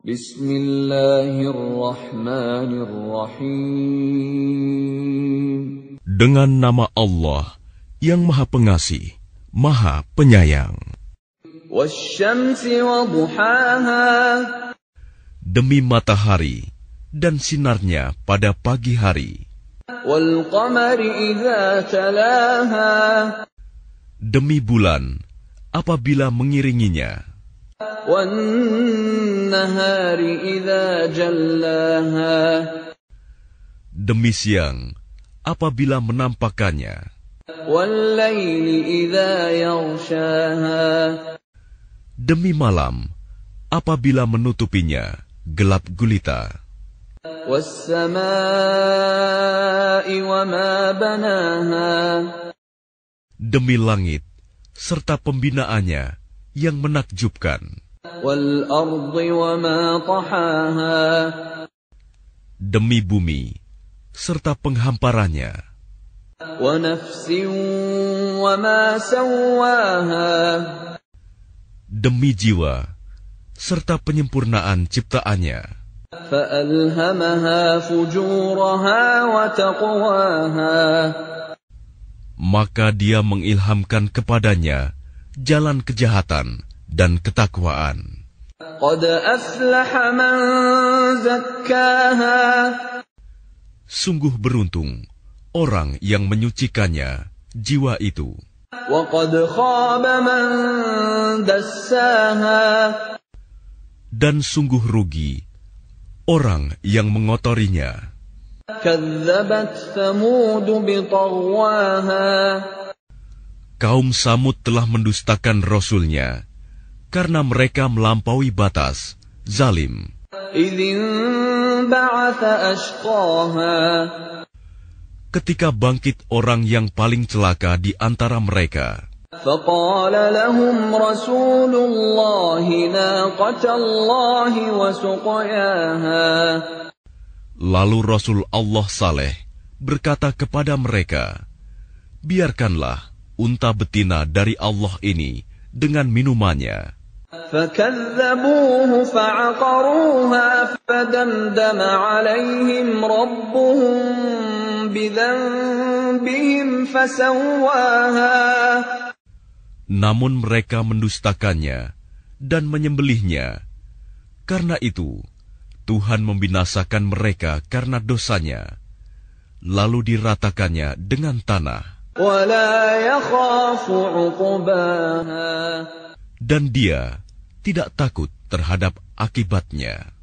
Bismillahirrahmanirrahim. Dengan nama Allah yang Maha Pengasih, Maha Penyayang. Wasyamsi wa duhaha. Demi matahari dan sinarnya pada pagi hari. Wal qamari idza talaha. Demi bulan apabila mengiringinya. Wan nahari idza jallaha. Demi siang apabila menampakkannya. Wal laili idza yaghshaha. Demi malam apabila menutupinya gelap gulita. Was samaa'i wa ma banaha. Demi langit serta pembinaannya yang menakjubkan. Wal ardi wa ma tahaha. Demi bumi serta penghamparannya. Wa nafsin wa ma sawwaha. Demi jiwa serta penyempurnaan ciptaannya. Fa'alhamaha fujuraha wa taqwaha. Maka dia mengilhamkan kepadanya jalan kejahatan dan ketakwaan. Qad aflaha man zakkaha. Sungguh beruntung orang yang menyucikannya, jiwa itu. Wa qad khaba man dassaha. Dan sungguh rugi orang yang mengotorinya. Kadzabat Thamud biṭaghwaha. Kaum Samud telah mendustakan Rasulnya karena mereka melampaui batas, zalim. Idzin ba'atha ashqaha. Ketika bangkit orang yang paling celaka di antara mereka. فقال لهم رسول الله ناقة الله وسقياها. Lalu Rasul Allah Saleh berkata kepada mereka, biarkanlah unta betina dari Allah ini dengan minumannya. فكذبوه فعقروها فدمدم عليهم ربهم بذنبهم فسواها. Namun mereka mendustakannya dan menyembelihnya. Karena itu, Tuhan membinasakan mereka karena dosanya, lalu diratakannya dengan tanah. وَلَا يَخَافُ عُقْبَاهَا. Dan dia tidak takut terhadap akibatnya.